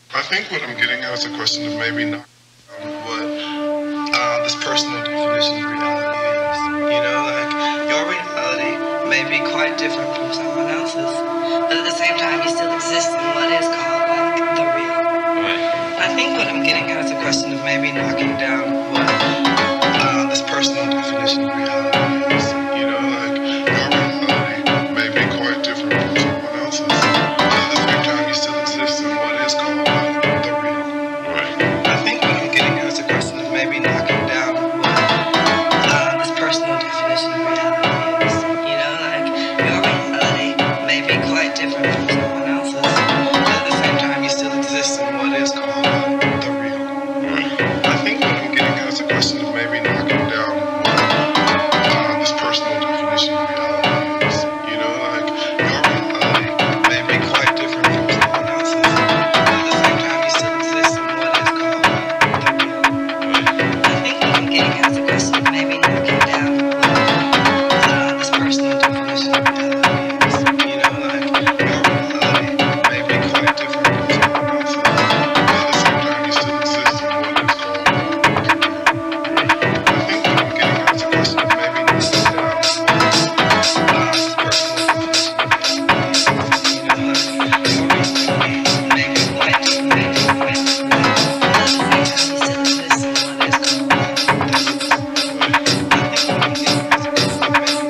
I think what I'm getting at is a question of maybe not what this personal definition of reality is. You know, like your reality may be quite different from someone else's, but at the same time, you still exist in what is called like the real. Right. I think what I'm getting at is a question of maybe knocking down what this personal definition of reality is. You know, like your reality may be quite different from someone else's, but at the same time, you still exist in what is called the real. Right. I think what I'm getting at is a question of maybe knocking down what this personal definition of reality is. You know, like your reality may be quite different from someone else's, but at the same time, you still exist in what is called the real. Right. I think what I'm getting at is a question of maybe knocking down what this personal definition of reality is. You know, like your reality may be quite different from someone else's, but at the same time, you still exist in what is called the real. Right. I think what I'm getting at is a question of maybe knocking down what this personal definition of reality is. You know, like your reality may be quite different from someone else's, but at the same time, you still exist in what is called the real. I think what I'm getting at is a question of maybe knocking down this personal definition of reality. You know, like your reality may be quite different from someone else's, but at the same time, you still exist in what is called the real. I think what I'm getting at is a question of maybe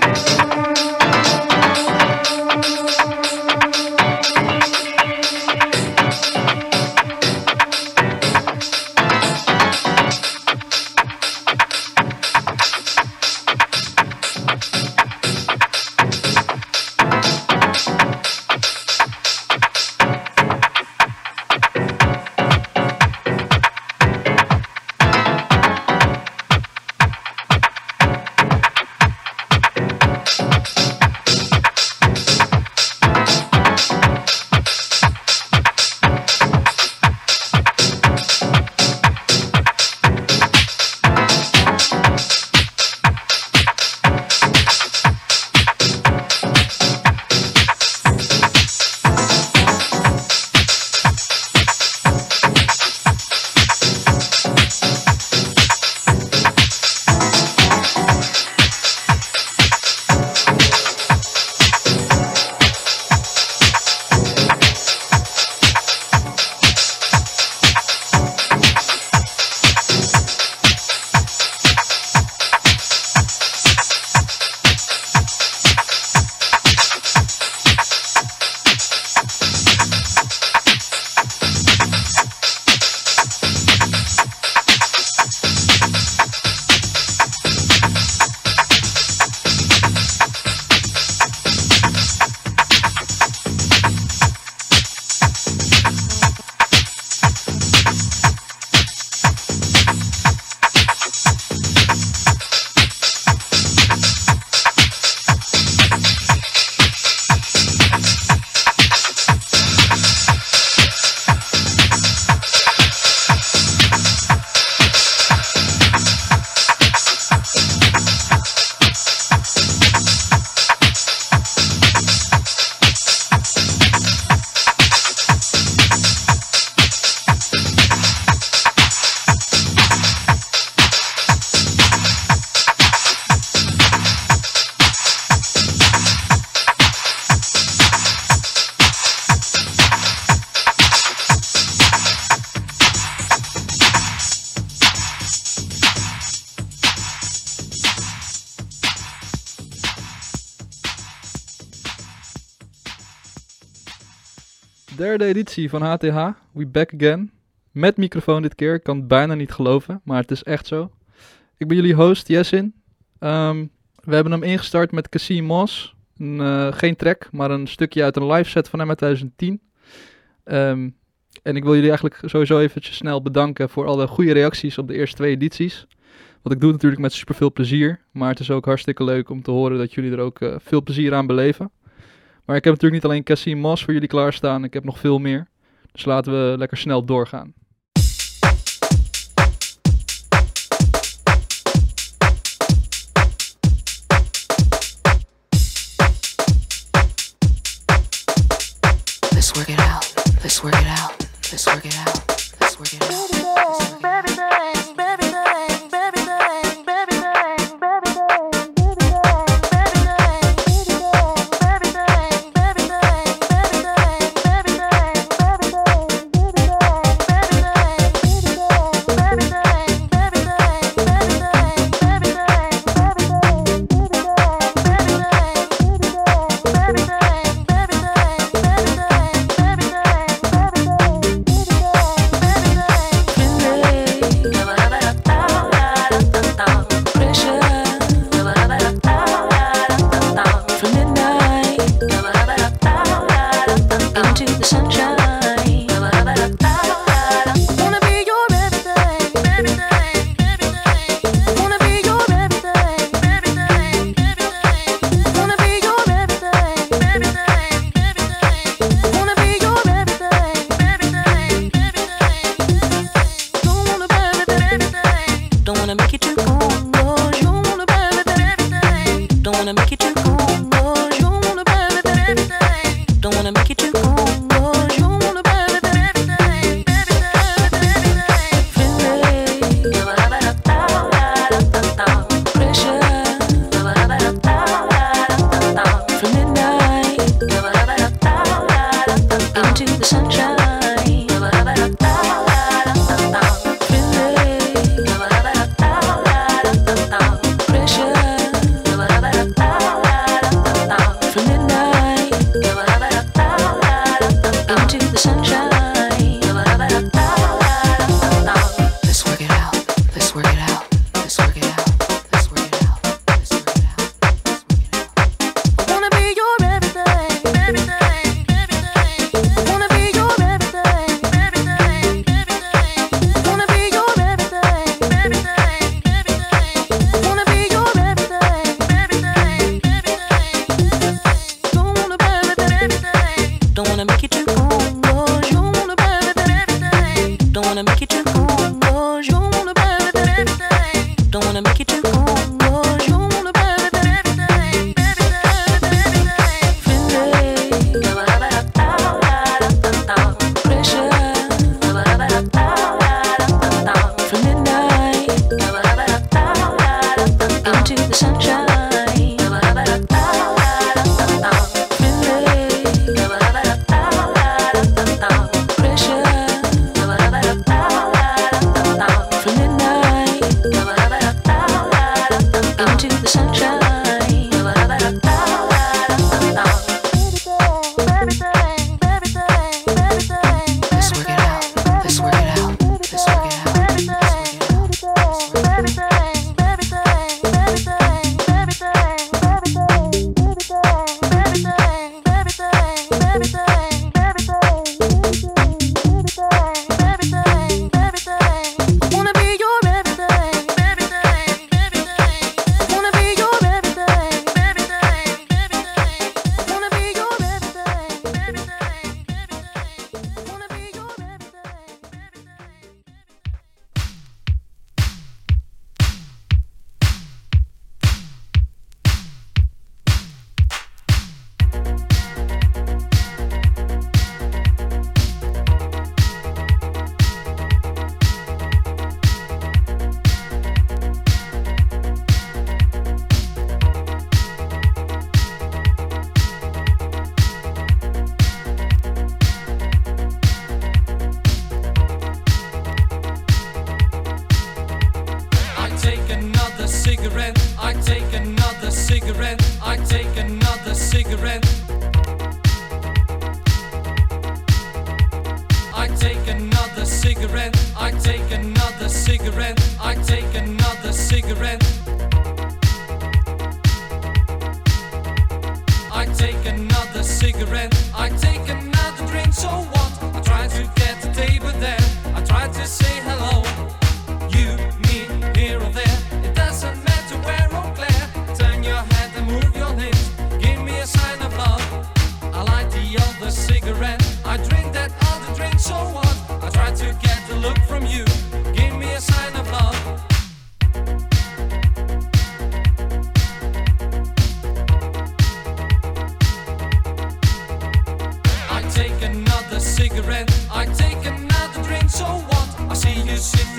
Derde editie van HTH, we back again. Met microfoon dit keer, ik kan het bijna niet geloven, maar het is echt zo. Ik ben jullie host, Jessin. We hebben hem ingestart met Cassie Moss. Geen track, maar een stukje uit een live set van hem uit 2010. En ik wil jullie eigenlijk sowieso eventjes snel bedanken voor alle goede reacties op de eerste 2 edities. Wat ik doe natuurlijk met super veel plezier, maar het is ook hartstikke leuk om te horen dat jullie er ook veel plezier aan beleven. Maar ik heb natuurlijk niet alleen Cassie Moss voor jullie klaarstaan, ik heb nog veel meer. Dus laten we lekker snel doorgaan. Let's work it out. Let's work it out. Let's work it out. Let's work it out. So what? I try to get a look from you. Give me a sign of love.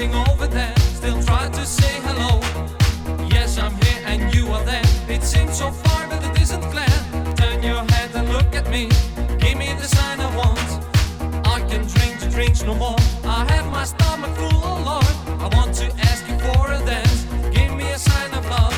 sitting over there, still try to say hello. Yes, I'm here and you are there. It seems so far, but it isn't clear. Turn your head and look at me. Give me the sign I want. I can drink the drinks no more. I have my stomach full, oh Lord. I want to ask you for a dance. Give me a sign of love.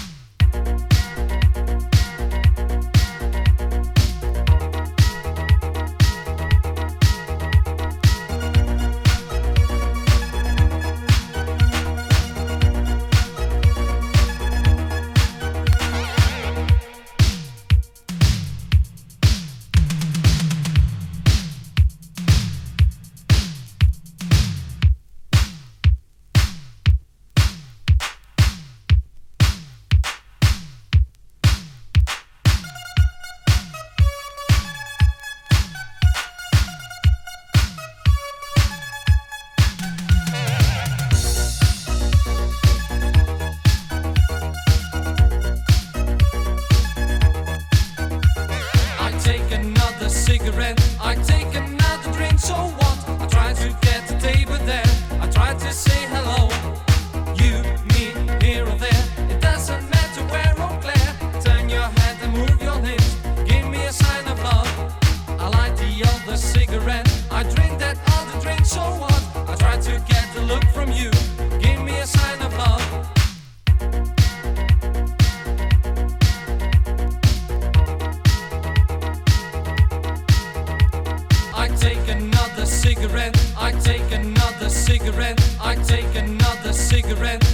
I take another drink, so what? I try to get the table there. I try to say hello. You, me, here or there. It doesn't matter where or where. Turn your head and move your lips. Give me a sign of love. I light the other cigarette. I drink that other drink, so what? I try to get the look from you. Give me a sign of love. I take another cigarette. I take another cigarette. I take another cigarette.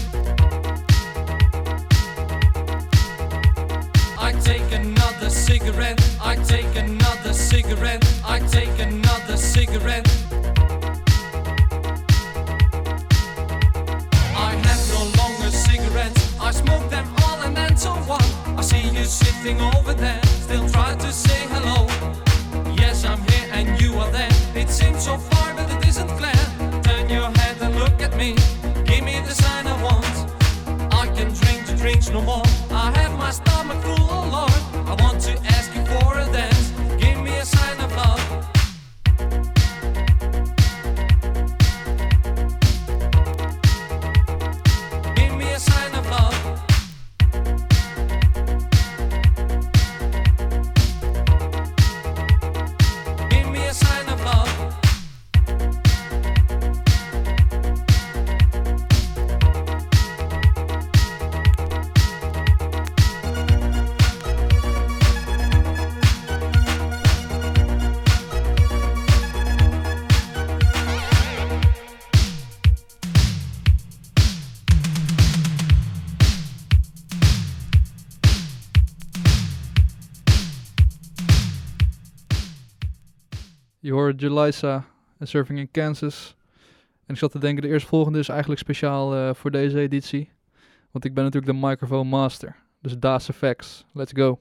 I take another cigarette. I take another cigarette. I take another cigarette. I have no longer cigarettes. I smoke them all and then so what? I see you sitting over there. Still try to say hello. Yes, I'm here and you are there. It seems so far, but it isn't clear. Turn your head and look at me. Give me the sign I want. I can drink the drinks no more. I have my stomach full, oh Lord. I want to ask you for a dance. Give me a sign of love. Give me a sign of love. Give me a sign of love. Je hoort Julissa en Surfing in Kansas. En ik zat te denken, de eerstvolgende is eigenlijk speciaal voor deze editie. Want ik ben natuurlijk de microphone master. Dus Das Effects. Let's go.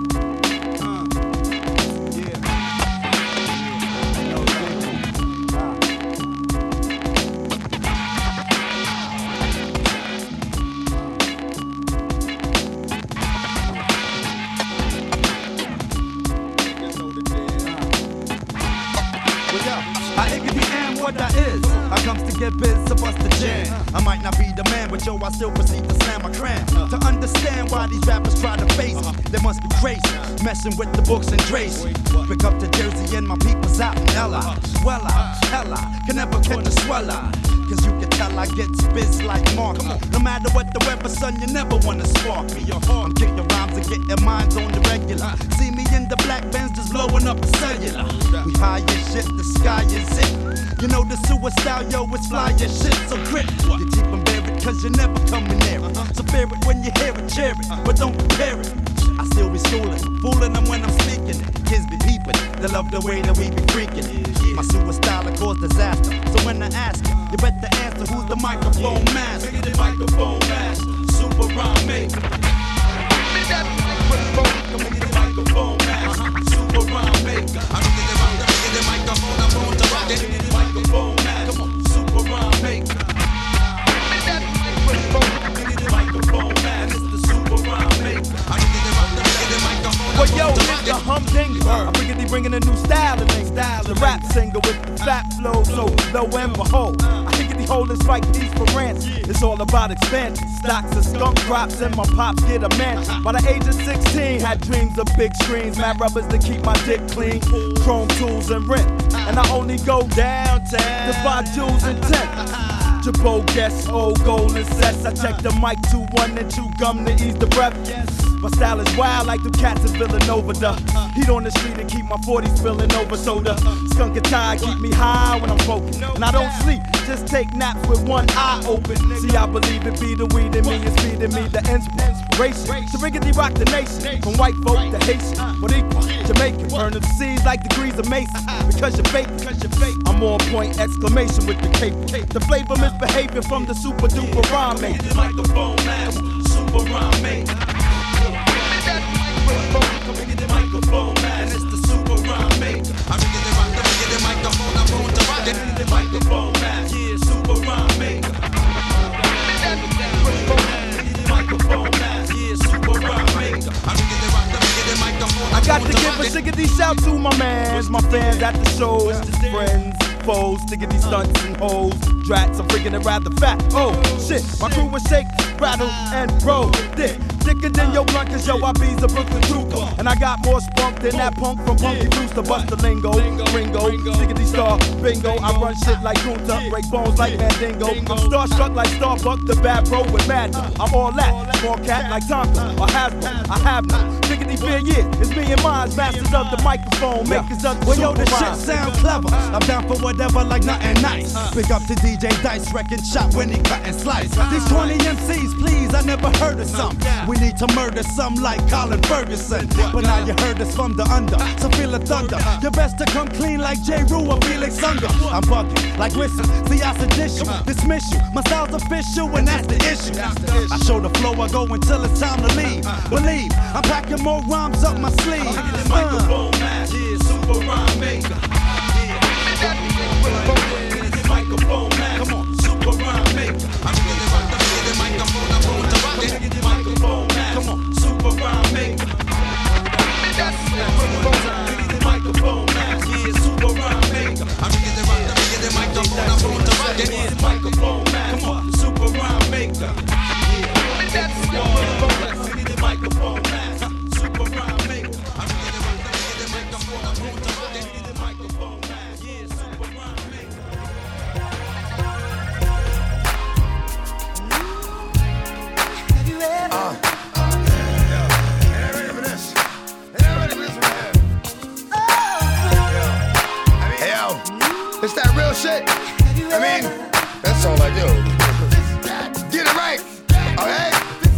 What that is, I comes to get biz, so bust the jam. I might not be the man, but yo, I still proceed to slam my cram. To understand why these rappers try to face me, there must be grace, messing with the books and Tracy. Pick up to Jersey and my people's out in Ella. Well, hella, can never catch a sweller. Cause you can tell I get spizz like Mark. No matter what the weather, son, you never wanna spark me. I'm kicking rhymes and getting minds on the regular. See me in the black Benz just blowing up the cellular. We high as shit, the sky is it. You know the suicide, yo, it's fly as shit, so grip. You keep them buried cause you're never coming near it. So fear it when you hear it, cheer it, but don't compare it. I still be schooling, fooling them when I'm speaking it. Kids be peeping, they love the way that we be freaking it. My suicide will cause disaster, so when I ask you better answer who's the microphone master. The microphone master, super rhyme maker. Give me that microphone, come get the microphone master, super rhyme maker. I don't think about the microphone, I'm on to rock it. Microphone master, come on, super rhyme maker. Give me that microphone, come get the microphone master, it's the super rhyme maker. I don't think about the microphone. Well, yo, it's the humdinger. I'm bringing a new style to me. The rap singer with the fat flow, so lo and behold, I think Money holders fight peace for rents. It's all about expansion. Stocks and skunk crops and my pops get a mansion. By the age of 16, had dreams of big screens. Mad rubbers to keep my dick clean. Chrome tools and rent. And I only go downtown to buy jewels and tent. Jabot guess, old golden sets. I check the mic 2-1 and chew gum to ease the breath. My style is wild like the cats in Villanova. The heat on the street and keep my 40s spilling over soda. Skunk and tie keep me high when I'm focused. And I don't sleep, just take naps with one eye open. See, I believe it be the weed in me is feeding me the inspiration to riggedy rock the nation. From white folk to Haitian, what equal Jamaican. Burn the seas like degrees of Mason. Because you're fake, I'm on point, exclamation with the cape. The flavor misbehavior from the super duper rhyme mate. The microphone man, super rhyme mate. Come get the microphone man, it's the super rhyme mate. I'm get the microphone, I'm going to rock it. The microphone man, yeah, super rhyme mate. The microphone man, yeah, super rhyme mate. I got to give a shiggity shout to my mans, my fans at the shows, friends, foes, stiggity stunts and hoes, drats, I'm freaking it rather fat. Oh shit, my crew was shake, rattle, and roll dick. Thicker than your blunt, cause yo, I be's a Brooklyn trooper. And I got more spunk than that punk from Punky Brewster. Bust the lingo, Ringo, Siggity Star, Bingo. I run shit like Kunta, break bones like Mandingo. I'm starstruck like Starbuck, the bad bro with mad. I'm all that, small cat like Tonka or Hasbro. I have no Siggity fear, yeah. It's me and mine, masters of the microphone, makers of the well, yo, the shit sound clever. I'm down for whatever, like nothing nice. Big up to DJ Dice, wrecking shop when he cut and slice. These 20 MCs, please, I never heard of some. We need to murder some like Colin Ferguson. But now you heard us from the under, so feel the thunder. You best to come clean like J. Rue or Felix Unger. I'm bugging like Whistle, see I sedish you, dismiss you. My style's official and that's the issue. I show the flow, I go until it's time to leave. Believe, I'm packing more rhymes up my sleeve. Microphone man, yeah, super rhyme maker. Microphone man, come on, super rhyme maker. Microphone man, come on, super rhyme maker. Microphone man, yeah, super rhyme maker. Microphone man, come on, super rhyme maker. Microphone man, super rhyme maker. It's that real shit. I mean, that's all I do. Get it right, okay?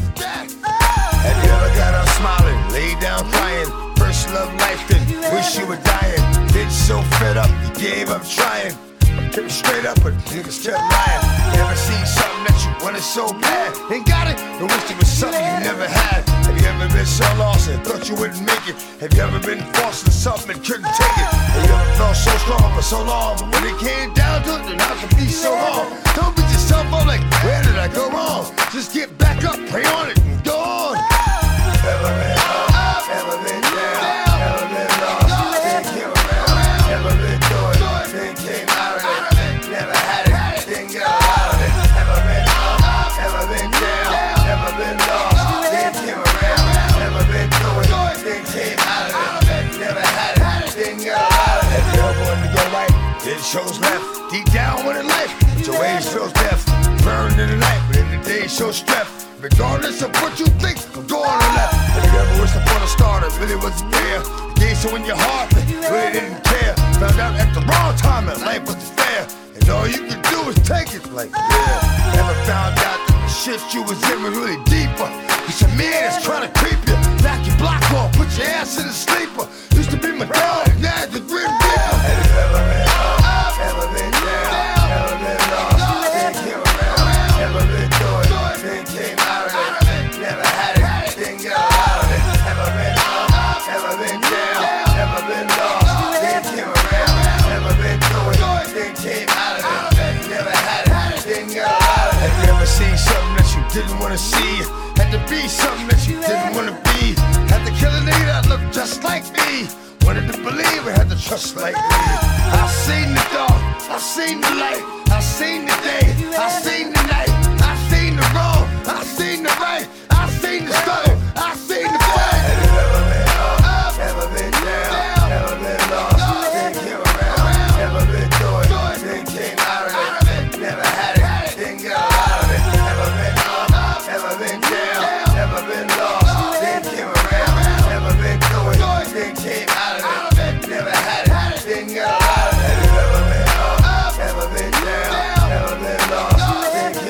Have you ever got up smiling, laid down crying? First love life, then wish you were dying. Bitch so fed up, you gave up trying. Kept straight up, but niggas kept lying. Never seen something that you wanted so bad. Ain't got it, and wish it was something you never had. Have you ever been so lost and thought you wouldn't make it? Have you ever been forced to something and couldn't take it? Have you ever felt so strong for so long, but when it came down to it, then how could be so wrong? Don't beat yourself up like, where did I go wrong? Just get back up, pray on it, and go on. Ever been up, ever been down, ever been lost, then came around, ever been through it, then came out of it, never had it, then got out of it. Ever been up, ever been down, ever been lost, then came around, never been through it, then came out of it, never had it, then got out of it. If you ever wanted to go right, then chose left, deep down with a life, but your ways feels death, burned in the night, but in the day shows strength. Regardless of what you think, I'm going on left. Have you ever wished upon a star that really wasn't there? Gave so in your heart, but really didn't care. Found out at the wrong time that life wasn't fair. And all you could do is take it like, yeah. Never found out that the shit you was in was really deeper. It's a man that's trying to creep you. Knock your block off, put your ass in a sleeper. Used to be my dog, now it's the Grim Reaper. Have you ever been up, ever been down, ever been lost, then came around, ever been through it, then came out of it, never had it, then got out of it. Ever been up, ever been down, ever been lost, then came around, ever been through it, then came out of it, never had it, then got out of it. Have you ever seen something that you didn't want to see? Had to be something that you didn't want to be? Had to kill a nigga that looked just like me? Wanted to believe we had to trust like me. I seen the dark, I seen the light, I seen the day, I seen the night, I seen the wrong, I seen the right, I seen the struggle, I seen the fight. Have you ever been up, ever been down, ever been lost, then came around, ever been through it, then came out of it, never had it, then got out of it. Ever been up, ever been down, ever been lost, then came around, ever been through it, then came out of it, never had it, then got out of it. Have you ever been up, ever been down, ever been lost, then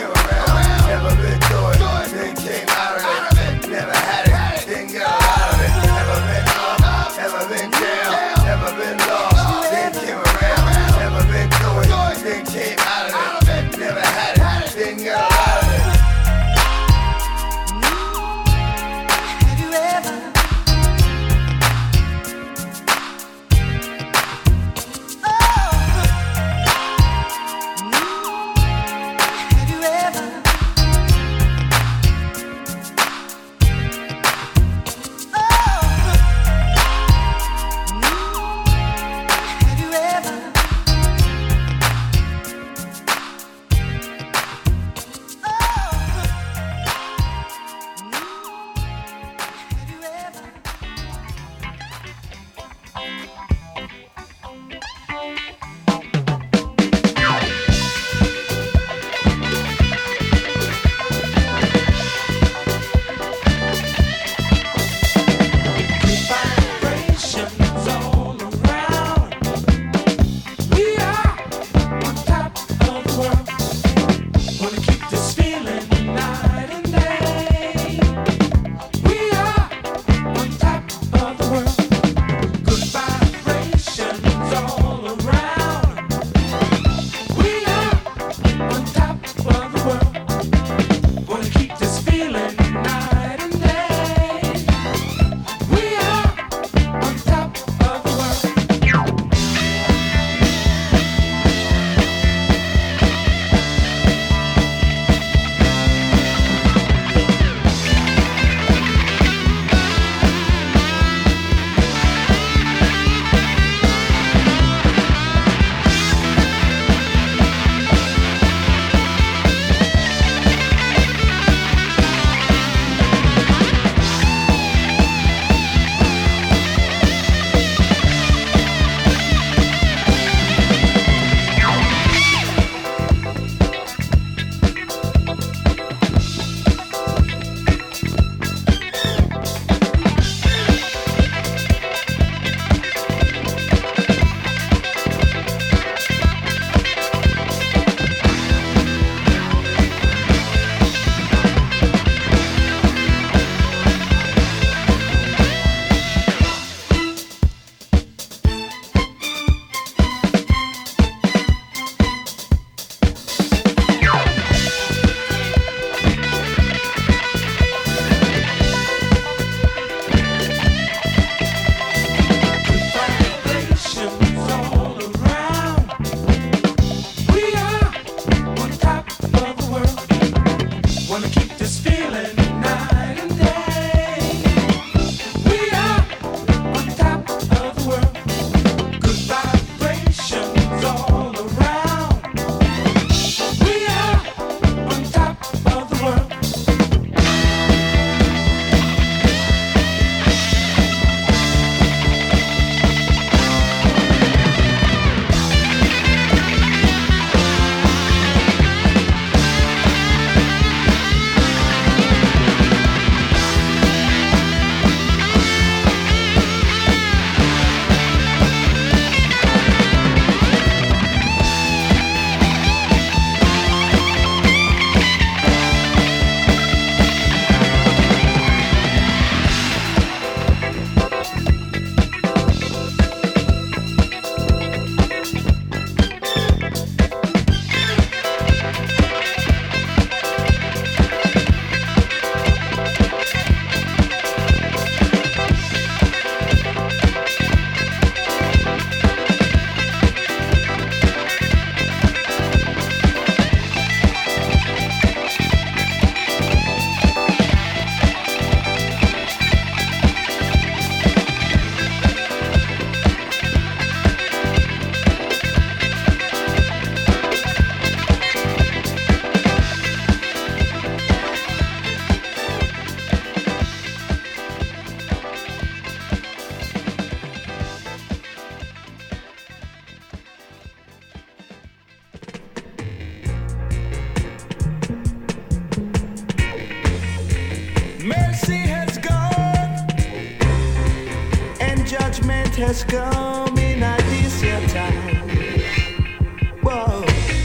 night has come in a this time. Whoa.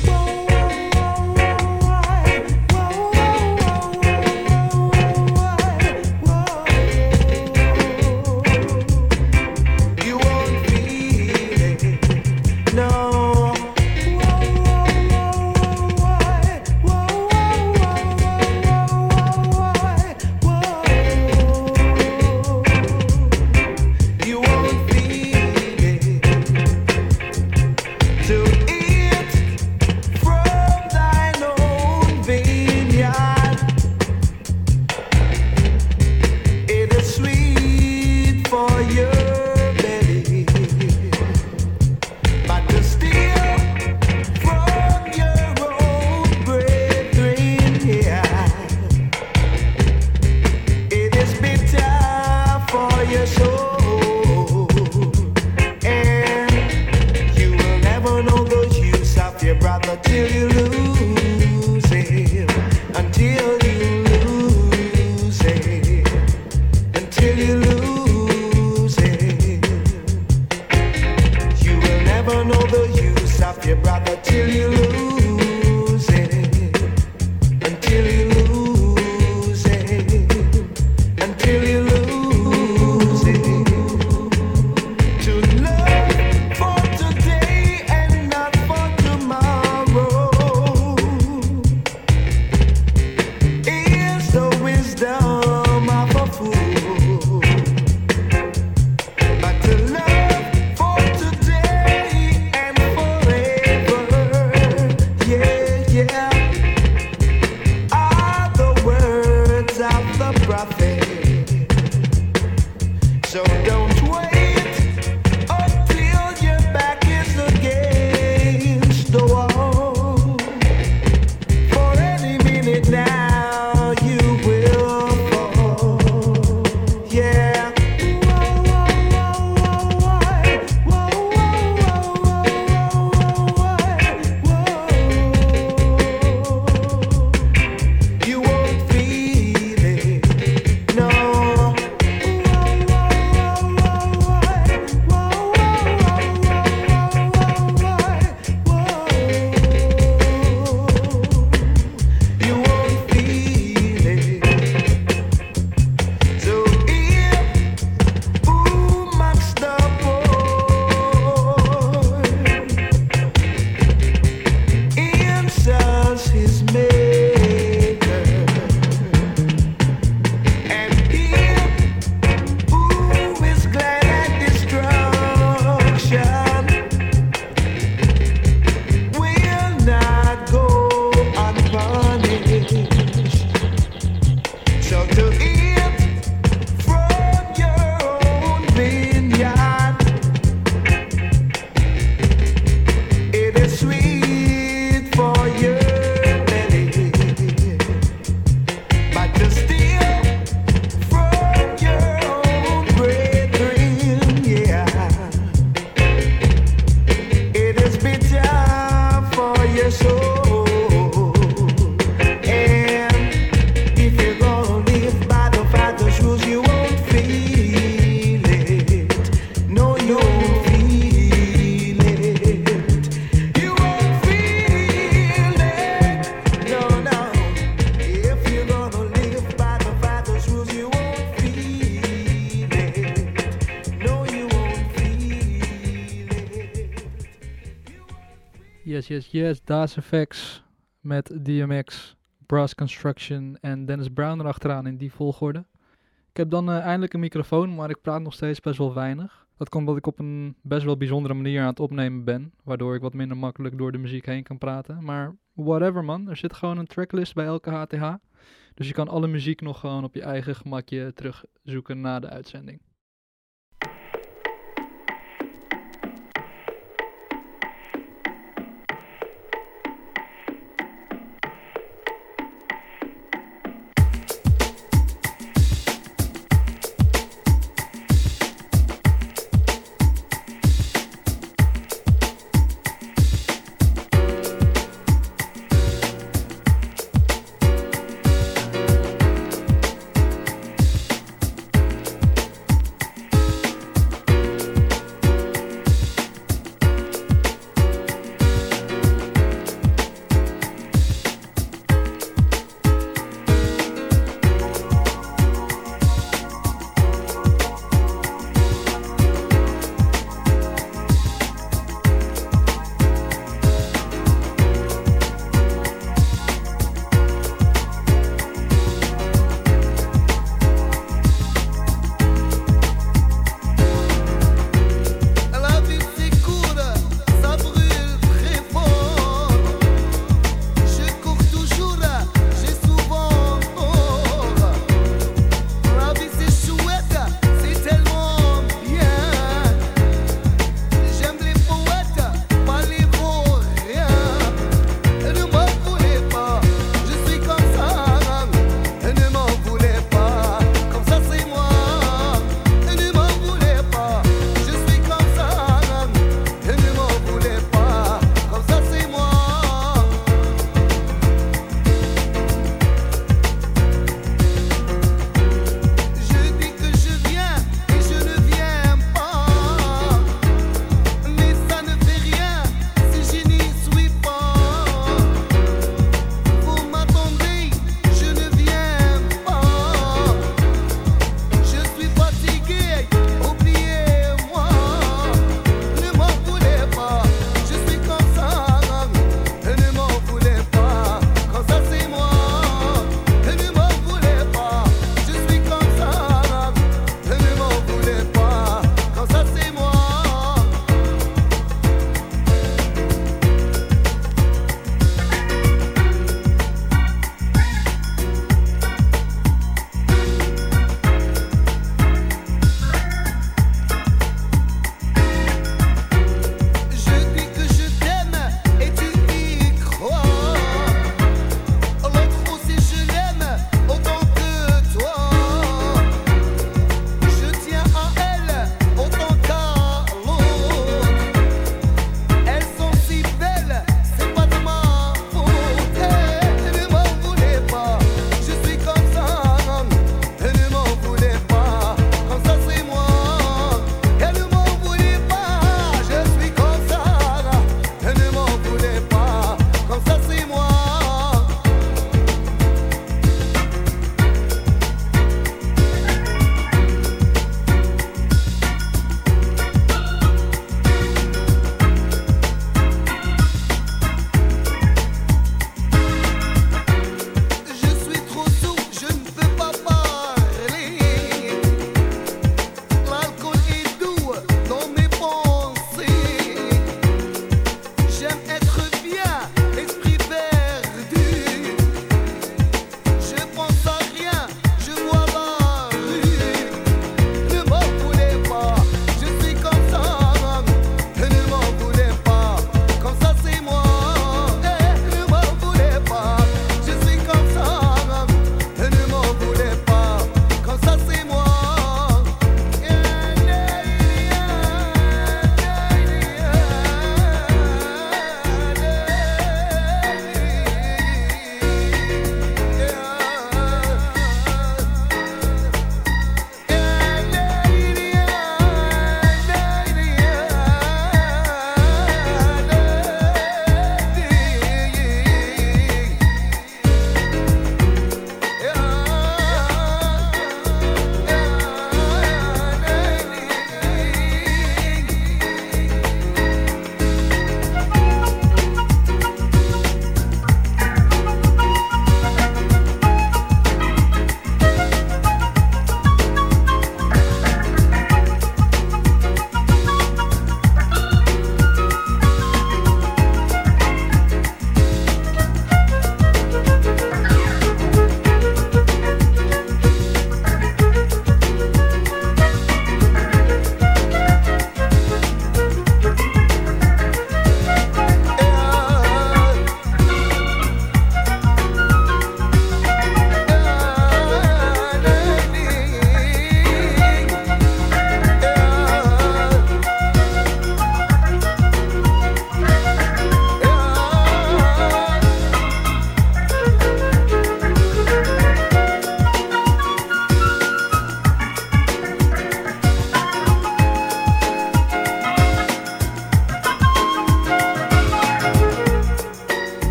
Yes, Das Effects met DMX, Brass Construction en Dennis Brown erachteraan in die volgorde. Ik heb dan eindelijk een microfoon, maar ik praat nog steeds best wel weinig. Dat komt omdat ik op een best wel bijzondere manier aan het opnemen ben, waardoor ik wat minder makkelijk door de muziek heen kan praten. Maar whatever man, er zit gewoon een tracklist bij elke HTH. Dus je kan alle muziek nog gewoon op je eigen gemakje terugzoeken na de uitzending.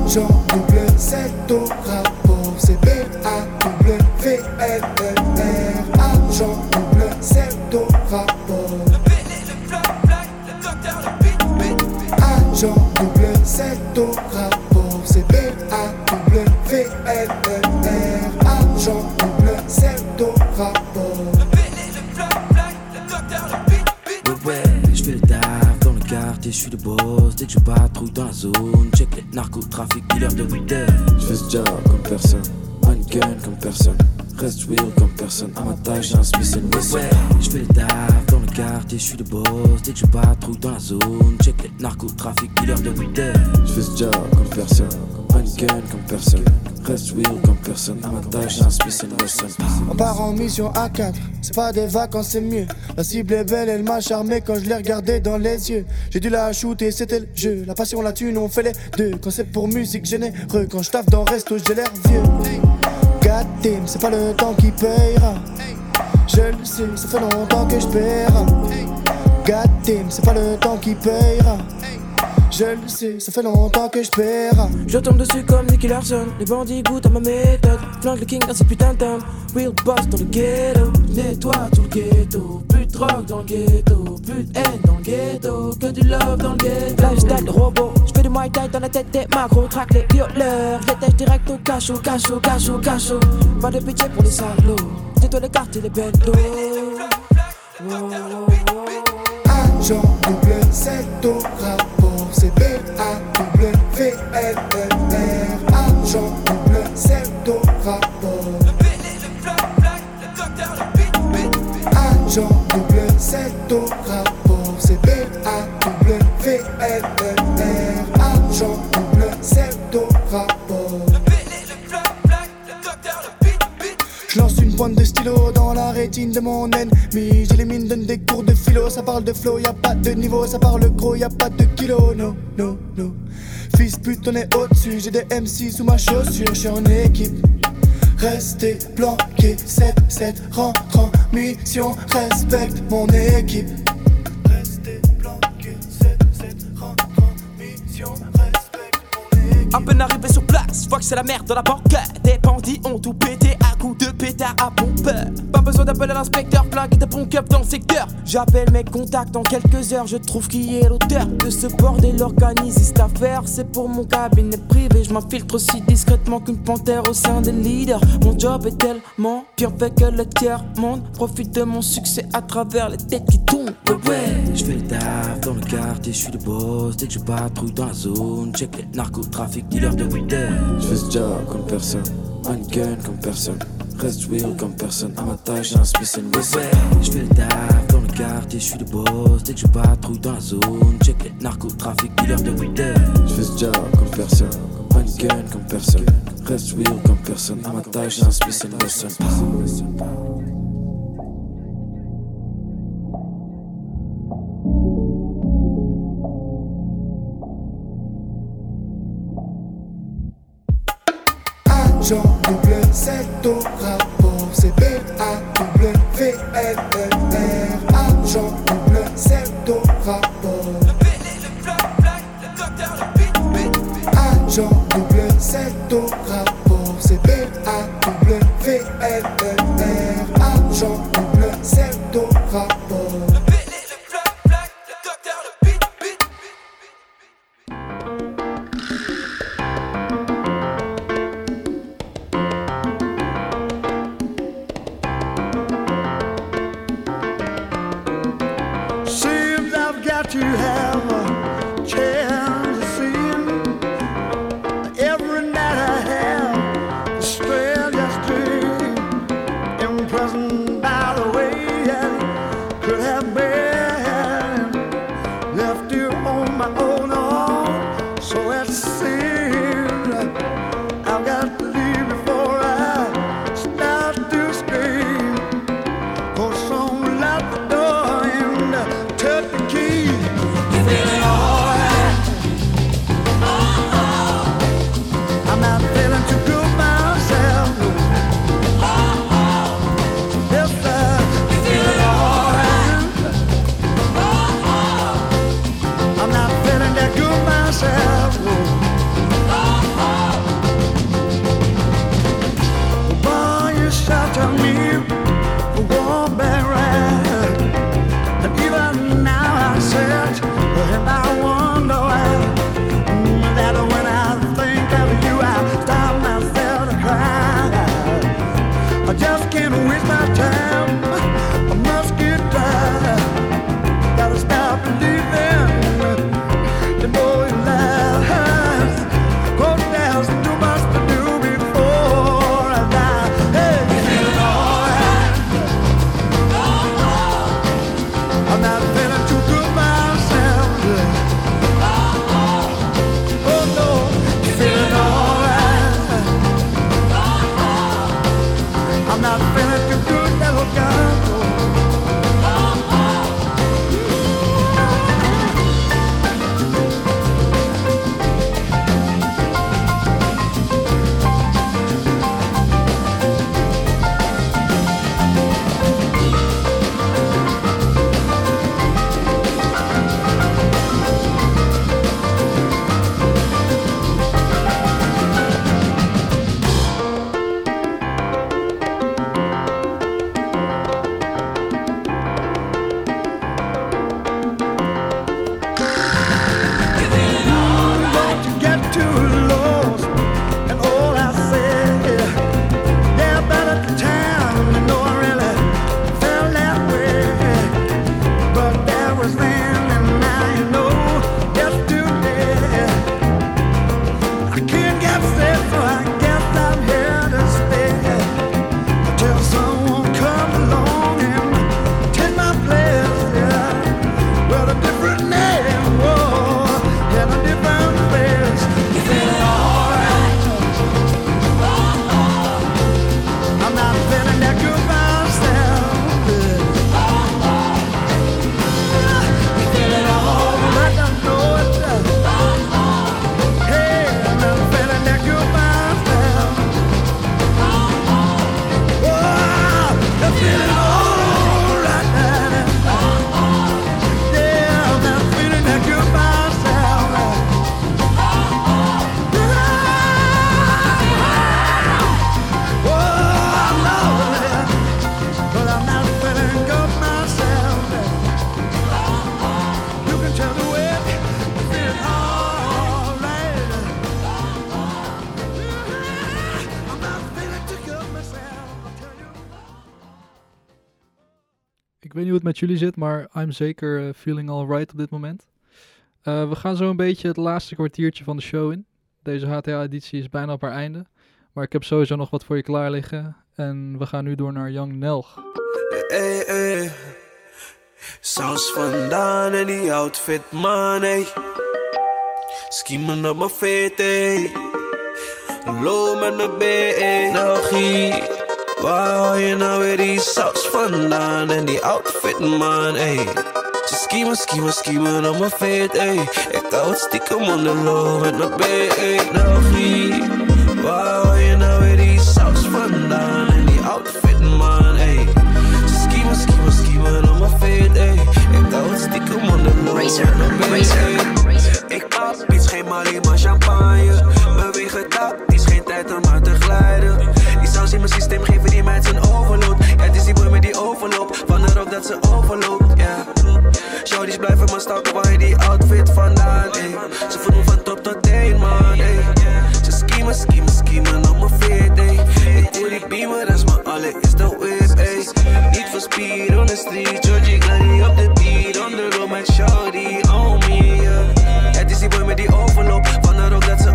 Agent double Z au rapport, c'est B-A-W-V-L-E-R. Agent double Z au rapport. Agent double Z au rapport, c'est B-A-W-V-L-E-R. Agent double Z au rapport. Ouais, je fais le taf dans le quartier, je suis le boss. Dès que je patrouille dans la zone, check les narcotrafics, dealers de bouteilles. Je fais ce job comme personne, un gun comme personne. Reste real comme personne, à ma taille j'ai un Smith & Wesson. Ouais, je fais le taf dans le quartier, je suis le boss. Dès que je patrouille dans la zone, check les narcotrafics, dealers de bouteilles. Je fais ce job comme personne, un gun comme personne. Reste real comme personne, à ma taille j'ai un Smith & Wesson. On part en mission à 4, c'est pas des vacances, c'est mieux. La cible est belle, elle m'a charmé quand je l'ai regardée dans les yeux. J'ai dû la shooter, c'était le jeu. La passion, la thune, on fait les deux. Quand c'est pour musique, généreux. Quand je taffe dans resto, j'ai l'air vieux. God damn, c'est pas le temps qui payera. Je le sais, ça fait longtemps que je paiera. God damn, c'est pas le temps qui payera. Je le sais, ça fait longtemps que je paiera. Je tombe dessus comme Nicky Larson. Les bandits goûtent à ma méthode. Flanque le king dans ses putains de thèmes. Real boss dans le ghetto. Nettoie tout le ghetto. Plus de drogue dans le ghetto. Plus de haine dans le ghetto. Que du love dans le ghetto. Lifestyle de robot. J'fais du Muay Thai dans la tête des macros. Traque les violeurs. Je les tèche direct au cachot. Pas de pitié pour les salauds. Dis-toi les quartiers, les bentos. Agent double Z au rapport, c'est B-A-W-V-L-E-R. Agent double Z au rapport. Agent double Z au rapport, c'est B-A-W-V-L-E-R. Agent double Z au rapport. Je lance une pointe de stylo dans la rétine de mon ennemi. J'élimine, donne des cours de philo. Ça parle de flow, y'a pas de niveau. Ça parle gros, y'a pas de kilo. No, no, no. Fils pute, on est au-dessus. J'ai des MC sous ma chaussure. J'suis en équipe. Restez planqué. 7-7, rentre en mission. Respecte mon équipe. Restez planqué. 7-7, rentre en mission. Respecte mon équipe. À peine arrivé sur place, vois que c'est la merde dans la banquette. Des bandits ont tout pété à coups de pétard à pompeur. Pas besoin d'appeler l'inspecteur, flingue des bons cups dans le secteur. J'appelle mes contacts dans quelques heures, je trouve qui est l'auteur de ce bordel organisé. Cette affaire, c'est pour mon cabinet privé. Je m'infiltre aussi discrètement qu'une panthère au sein des leaders. Mon job est tellement bien fait que le tiers-monde profite de mon succès à travers les têtes qui tombent. Ouais, je fais le taf dans le quartier, je suis le boss. Dès que je patrouille dans la zone, check les narcotrafics, dealers de bouteilles. Je fais ce job comme personne, un gun comme personne. Reste real comme personne, à ma taille j'ai un Smith & Wesson. Je fais le taf dans le quartier, je suis le boss. Dès que je patrouille dans la zone, check les narcotrafics, dealers de bouteilles. Je fais ce job comme personne, un gun comme personne. Reste real comme personne, à ma taille j'ai un Smith & Wesson. Agent double Z au rapport, c'est B-A-W-V-L-E-R. Agent double Z au rapport. Agent double Z au rapport, c'est B-A-W-V-L-E-R. Agent double Z au rapport. To have a chance to see him. Every night I have the strangest dream, imprisoned by the way I could have been left here on my own. So it seems I've got to leave before I start to scream. For someone locked the door and took the key. Feeling alright. I'm not feeling too good myself. Yes, sir. Feeling alright. I'm not feeling that good myself. weet niet hoe het met jullie zit, maar I'm zeker feeling alright op dit moment. We gaan zo een beetje het laatste kwartiertje van de show in. Deze HTA-editie is bijna op haar einde. Maar ik heb sowieso nog wat voor je klaar liggen. En we gaan nu door naar Young Nelg. Hey. Saus vandaan en die outfit, man, ey. Schiemen op mijn fit, ey. Low met mijn B, Nelgie. Waar haal je nou weer die saus vandaan en die outfit, man, ey. Ze schiemen op mijn fit, ey. Ik hou het stiekem on the low met mijn B, Nelgie. Waar haal je nou weer die saus vandaan en die outfit, man, ey. Ze schiemen op mijn fit, ey. Ik hou het stiekem on the low met mijn B, ey. Ik pap iets, geen Mali, maar champagne. Beweeg het dak, het is geen tijd om uit te glijden. Die saus in mijn systeem geven die meid zijn overload. Ja, het is die boy met die overloop, vandaar ook dat ze overloopt, ja. Shorties blijven maar stalken, waar je die outfit vandaan, ey. Ze voelen me van top tot teen, man, ey. Ze schiemen op mijn fit, ey. Ik doe die beamer, dat is mijn allereerste whip, ey. Niet voor speed on the street, Georgie Glady op de beat. On the road met shorty, on me, yeah. Het is die boy met die overloop, vandaar ook dat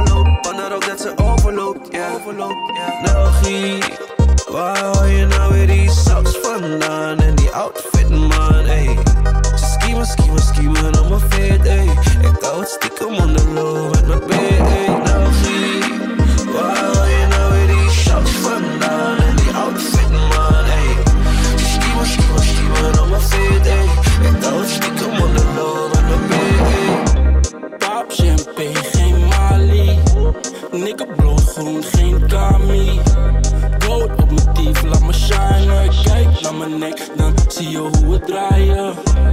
ze overloopt, yeah. Nelgie, waar haal je nou weer die saus vandaan en die outfit, man, ey. Ze schiemen op mijn fit, ey. Ik hou het stiekem on the low met mijn B, ey. Nelgie, waar haal je nou weer die saus vandaan en die outfit, man, ey. Ze schiemen op mijn fit, ey. Ik hou het stiekem on the low met mijn B, ey. Pop champagne, geen Mali. Nigga bloedgroen, geen Kami. Gold op mijn dief, laat me shinen. Kijk naar mijn nek, dan zie je hoe we draaien.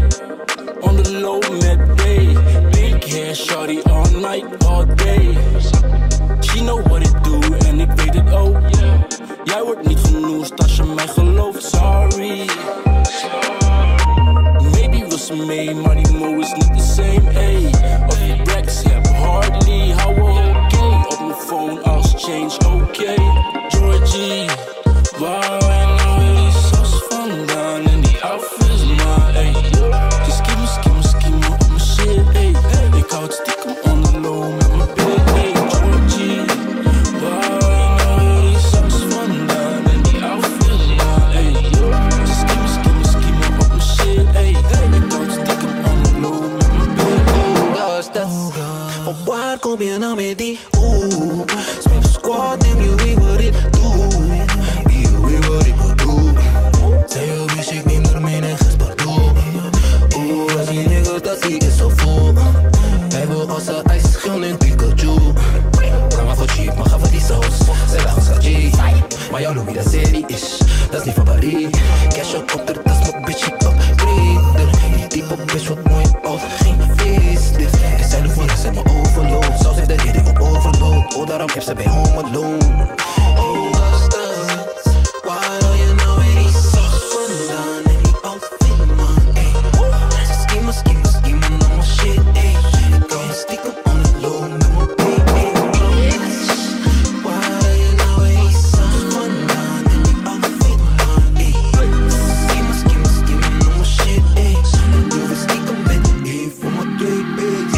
On the low met B. Big hair, shorty all night, all day. She know what it do en ik weet het ook. Jij wordt niet genoemd als je mij gelooft, sorry. Maybe wil ze mee, maar die mo is niet the same, ey. Of je racks heb, hardly, hou oké. Op mijn phone als change, oké. Georgie, waar en nou weer die saus vandaan en die outfits, maar ey. Ze schiemen op mijn shit, ey. Ik hou het stiekem on the low met mijn big, ey. Georgie, waar en nou weer die saus vandaan en die outfits, maar ey. Ze schiemen op mijn shit, ey. Ik hou het stiekem on the low met mijn big, ey. Van waar kom je nou met die Smith squad, neem je wie wat ik doe. Wie wat ik moet doen. Zij je wist ik niet meer mijn eigen spardoe. Als die nigga dat die is zo vol. Hij wil als een ijsschil en Pikachu. Ga maar voor cheap, maar ga voor die saus. Zij lachen schat G. Maar jouw Louis dat serie is, dat is niet van Paris. Cash up op de tas, mijn bitch ik upgrade. Die type bitch wat mooi oud, geen facelift. En zij doet voor rest en mijn overload. Saus heeft de reden op overload. Oh daarom heb ze bij Home Alone. Oh gasters, waar haal je nou weer die saus vandaan en die outfit, man, ey. Ze schiemen op mijn shit, ey. Ik hou me stiekem on the low met mijn baby. Waar haal je nou weer die saus vandaan en die outfit, man, ey. Ze schiemen op mijn shit, ey. Ik doe het stiekem met E voor mijn twee bitch.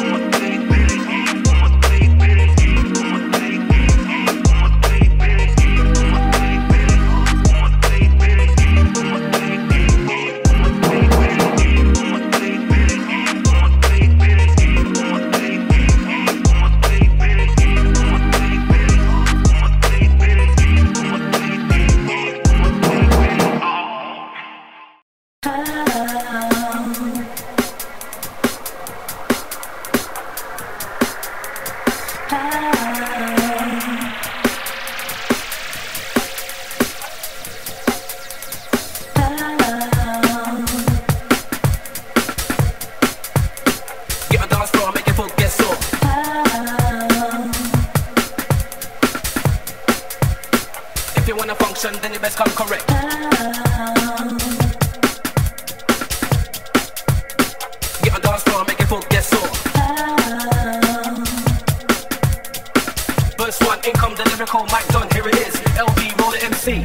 If you wanna function, then you best come correct. Get on dance floor, make it folk get sore. Verse 1. in come the lyrical mic done, here it is. LB roll the MC.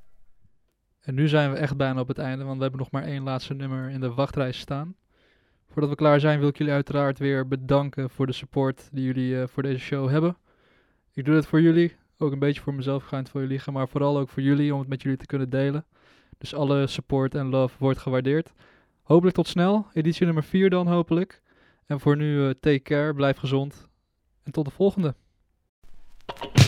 En nu zijn we echt bijna op het einde, want we hebben nog maar één laatste nummer in de wachtrij staan. Voordat we klaar zijn wil ik jullie uiteraard weer bedanken voor de support die jullie voor deze show hebben. Ik doe het voor jullie, ook een beetje voor mezelf, ik ga het voor jullie liegen, maar vooral ook voor jullie om het met jullie te kunnen delen. Dus alle support en love wordt gewaardeerd. Hopelijk tot snel, editie nummer 4 dan hopelijk. En voor nu take care, blijf gezond en tot de volgende.